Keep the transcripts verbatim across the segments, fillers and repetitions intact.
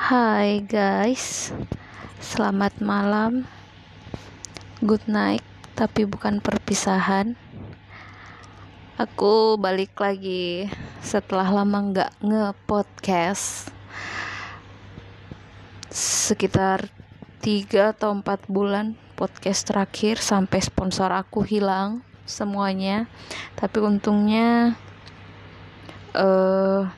Hai guys, selamat malam, good night, tapi bukan perpisahan. Aku balik lagi setelah lama gak nge-podcast, sekitar tiga atau empat bulan podcast terakhir sampai sponsor aku hilang semuanya. Tapi untungnya uh,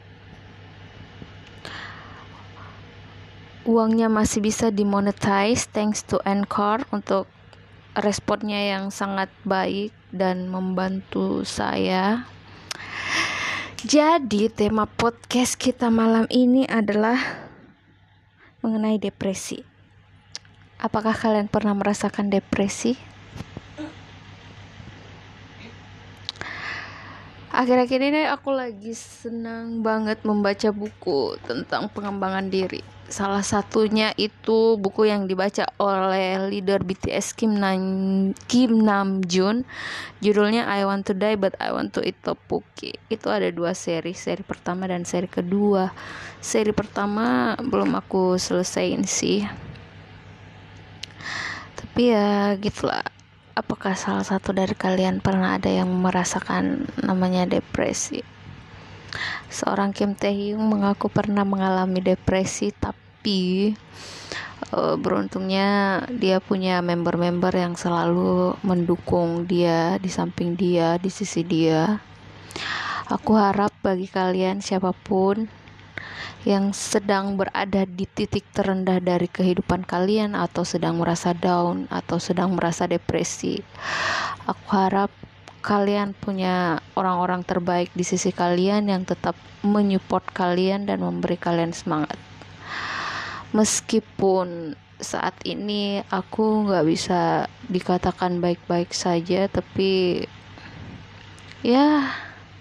uangnya masih bisa dimonetize thanks to Anchor untuk responnya yang sangat baik dan membantu saya. Jadi tema podcast kita malam ini adalah mengenai depresi. Apakah kalian pernah merasakan depresi? Akhir-akhir ini aku lagi senang banget membaca buku tentang pengembangan diri. Salah satunya itu buku yang dibaca oleh leader B T S Kim Nam Kim Namjoon. Judulnya I Want to Die But I Want to Eat Tteokbokki. Itu ada dua seri, seri pertama dan seri kedua. Seri pertama belum aku selesaiin sih. Tapi ya gitulah. Apakah salah satu dari kalian pernah ada yang merasakan namanya depresi? Seorang Kim Taehyung mengaku pernah mengalami depresi, tapi uh, beruntungnya dia punya member-member yang selalu mendukung dia, di samping dia, di sisi dia. Aku harap bagi kalian siapapun yang sedang berada di titik terendah dari kehidupan kalian, atau sedang merasa down, atau sedang merasa depresi, aku harap kalian punya orang-orang terbaik di sisi kalian yang tetap menyupport kalian dan memberi kalian semangat. Meskipun saat ini aku gak bisa dikatakan baik-baik saja, tapi ya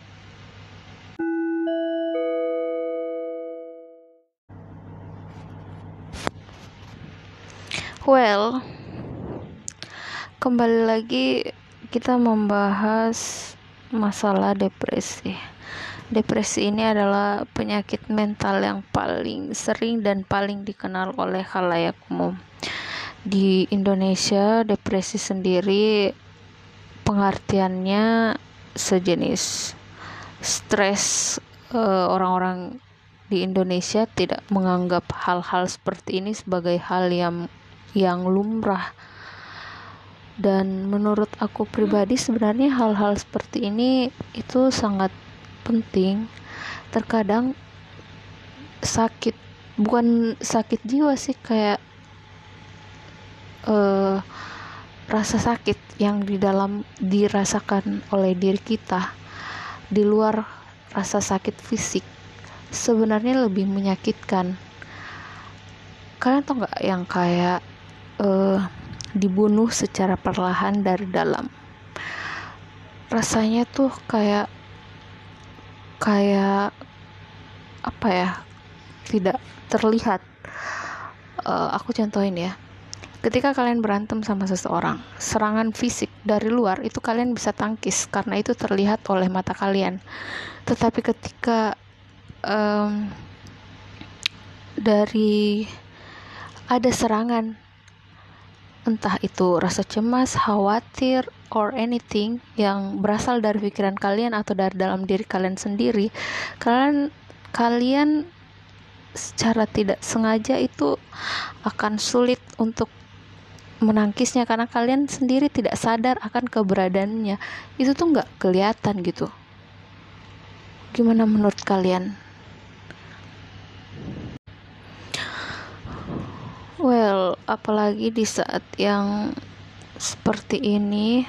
well, kembali lagi kita membahas masalah depresi. Depresi ini adalah penyakit mental yang paling sering dan paling dikenal oleh khalayak umum. Di Indonesia, depresi sendiri pengertiannya sejenis stres. Uh, orang-orang di Indonesia tidak menganggap hal-hal seperti ini sebagai hal yang yang lumrah. Dan menurut aku pribadi sebenarnya hal-hal seperti ini itu sangat penting. Terkadang sakit, bukan sakit jiwa sih, kayak uh, rasa sakit yang di dalam dirasakan oleh diri kita di luar rasa sakit fisik sebenarnya lebih menyakitkan. Kalian tau gak yang kayak uh, dibunuh secara perlahan dari dalam? Rasanya tuh kayak kayak apa ya, tidak terlihat. uh, aku contohin ya, ketika kalian berantem sama seseorang, serangan fisik dari luar itu kalian bisa tangkis karena itu terlihat oleh mata kalian. Tetapi ketika um, dari ada serangan, entah itu rasa cemas, khawatir, or anything yang berasal dari pikiran kalian atau dari dalam diri kalian sendiri, kalian kalian secara tidak sengaja itu akan sulit untuk menangkisnya karena kalian sendiri tidak sadar akan keberadaannya. Itu tuh nggak kelihatan gitu. Gimana menurut kalian? Well, apalagi di saat yang seperti ini,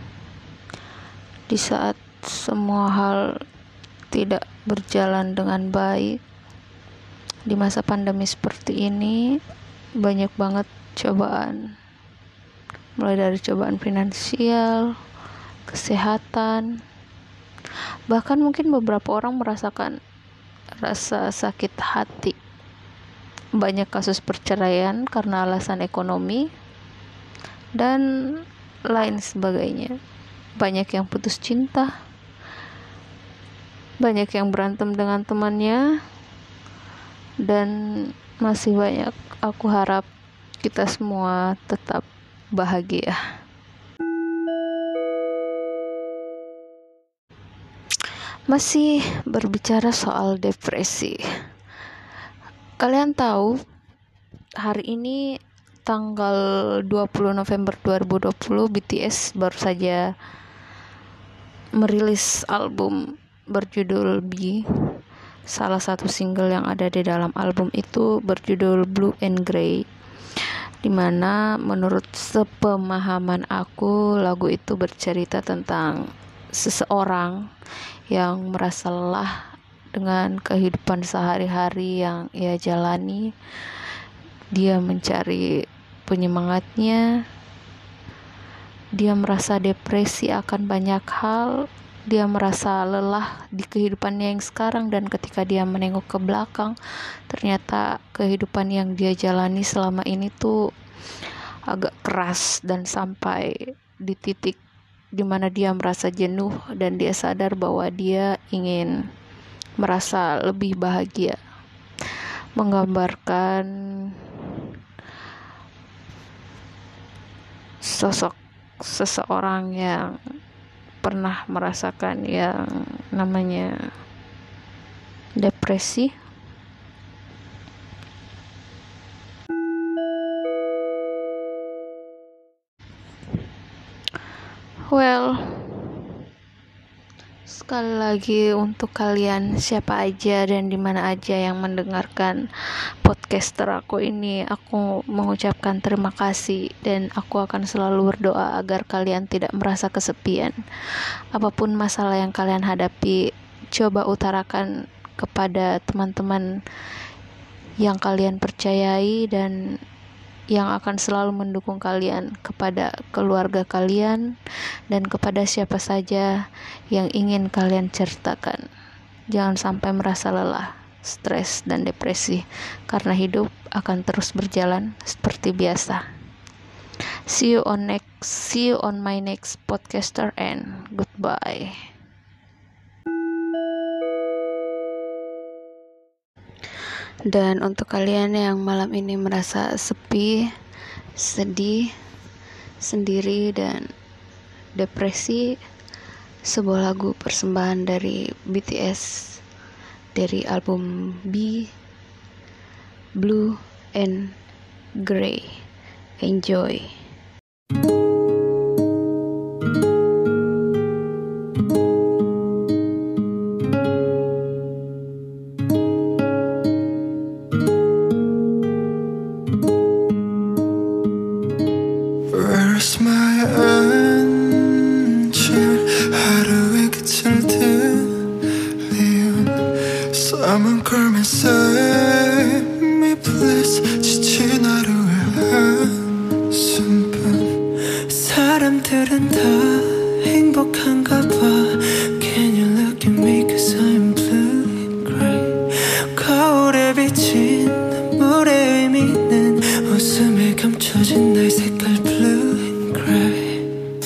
di saat semua hal tidak berjalan dengan baik, di masa pandemi seperti ini, banyak banget cobaan. Mulai dari cobaan finansial, kesehatan, bahkan mungkin beberapa orang merasakan rasa sakit hati. Banyak kasus perceraian karena alasan ekonomi dan lain sebagainya. Banyak yang putus cinta, banyak yang berantem dengan temannya, dan masih banyak. Aku harap kita semua tetap bahagia. Masih berbicara soal depresi, kalian tahu hari ini tanggal dua puluh November dua ribu dua puluh B T S baru saja merilis album berjudul B. Salah satu single yang ada di dalam album itu berjudul Blue and Grey, dimana menurut sepemahaman aku lagu itu bercerita tentang seseorang yang merasa lelah dengan kehidupan sehari-hari yang ia jalani. Dia mencari penyemangatnya, dia merasa depresi akan banyak hal, dia merasa lelah di kehidupannya yang sekarang, dan ketika dia menengok ke belakang, ternyata kehidupan yang dia jalani selama ini tuh agak keras, dan sampai di titik dimana dia merasa jenuh dan dia sadar bahwa dia ingin merasa lebih bahagia. Menggambarkan sosok seseorang yang pernah merasakan yang namanya depresi. Well, sekali lagi untuk kalian siapa aja dan di mana aja yang mendengarkan podcaster aku ini, aku mengucapkan terima kasih, dan aku akan selalu berdoa agar kalian tidak merasa kesepian. Apapun masalah yang kalian hadapi, coba utarakan kepada teman-teman yang kalian percayai dan yang akan selalu mendukung kalian, kepada keluarga kalian, dan kepada siapa saja yang ingin kalian ceritakan. Jangan sampai merasa lelah, stres, dan depresi, karena hidup akan terus berjalan seperti biasa. See you on next, see you on my next podcaster, and goodbye. Dan untuk kalian yang malam ini merasa sepi, sedih, sendiri, dan depresi, sebuah lagu persembahan dari B T S dari album B, Blue and Grey. Enjoy. Where's my angel? 하루의 끝을 들리운 Someone come and save me please. 지친 하루의 한숨뿐 사람들은 다 행복한가 봐. Can you look at me cause I'm blue and grey. 거울에 비친 물의 의미는 웃음에 감춰진 나의 색깔 blue and grey.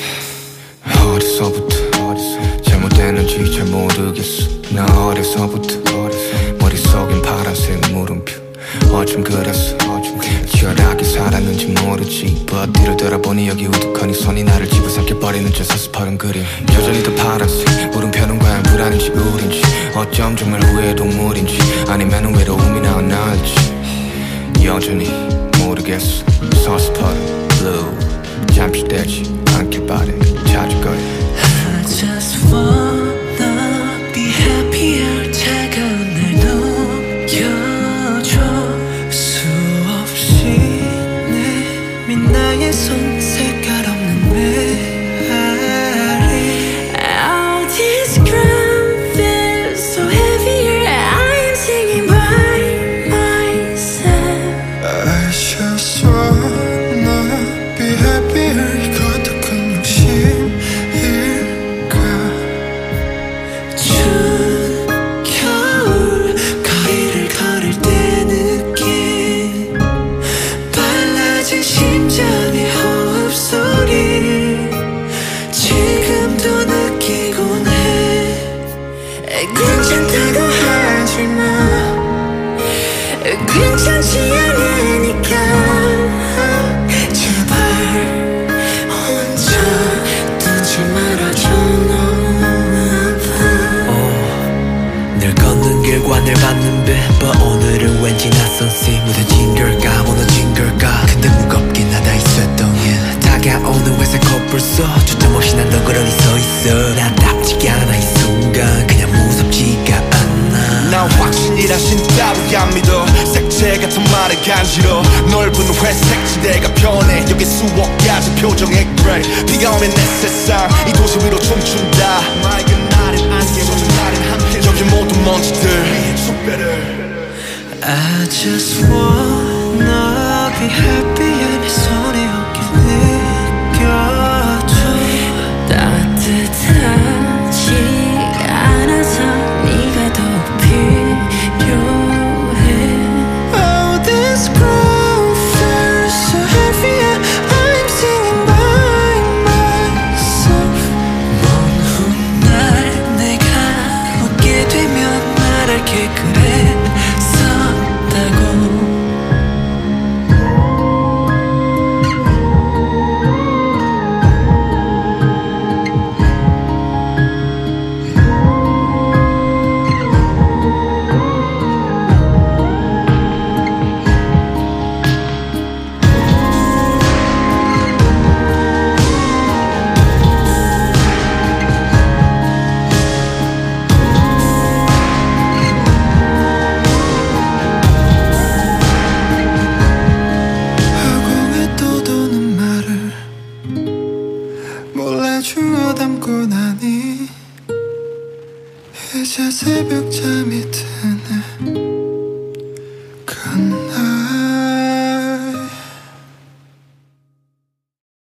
어디서부터 잘못됐는지 잘 모르겠어. 나 어려서부터 머릿속엔 파란색 물음표. 어쩜 그랬어 치열하게 살았는지 모르지. But 뒤를 돌아보니 여기 우두커니 손이 나를 집어삼켜버리는 저 서스퍼른 그림. 여전히 더 파란색 물음표는 과연 불안인지 우린지. 어쩜 정말 후회의 동물인지 아니면 외로움이나 나을지 여전히 모르겠어. 서스퍼른 blue 잠시되지 않길 바래. 찾을 거야. I just wanna be happier. 차가운 날 녹여줘. 수없이 내민 나의 손 색깔 없는 메아리. All this ground feels so heavier. I'm singing by myself. I just wanna be happier. 이것도 큰 욕심일까. 원하지 않으니까 제발 혼자 두지 말아줘 너무 아파 oh, 늘 걷는 길과 늘 받는 빛 But 오늘은 왠지 낯선 씨 무뎌진 걸까 무너진 걸까 근데 무겁긴 하다 이 쇳덩이 다가오는 회색 코뿔 속 주점 없이 난 덩그러니 서있어 나답지가 않아 이 순간 그냥 무섭지가 않아 난 확신이라신 따위 안 믿어 색채 같은 말에 간지러 넓은 회색 지대가 변해 여기 수억 가지 표정의 그레이 비가 오면 내 세상 이 도시 위로 춤춘다 맑은 날엔 안개 젖은 날엔 함께 여기 모든 먼지들 속배를 I just wanna be happy